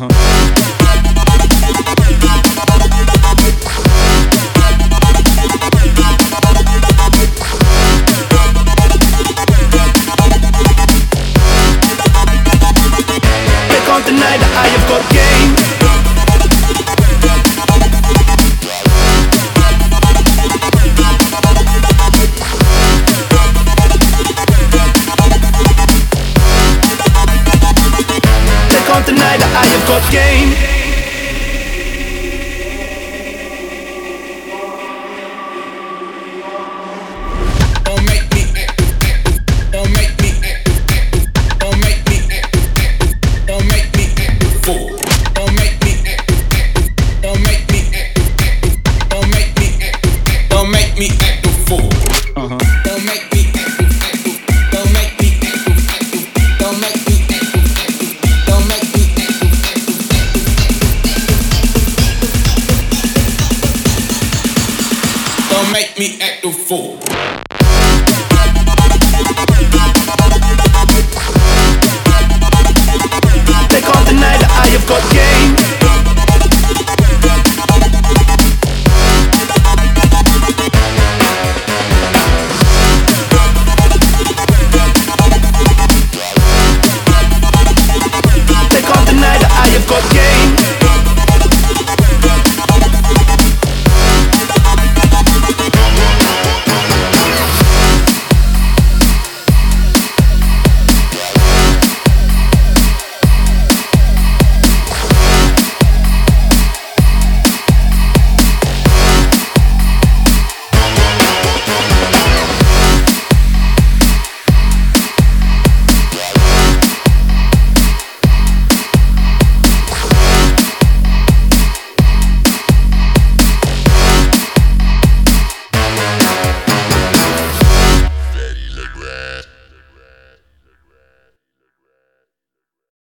Can't deny that I have got game. They can't deny that I have got game. Don't make me active, don't make me active, don't make me active, don't make me active, fool. Don't make me active, don't make me active, don't make me active, don't make me active, fool. Don't make me active, don't make me active, don't make me active, don't make me active, don't make me active, fool. They can't deny that I have got game. They can't deny that I have got game.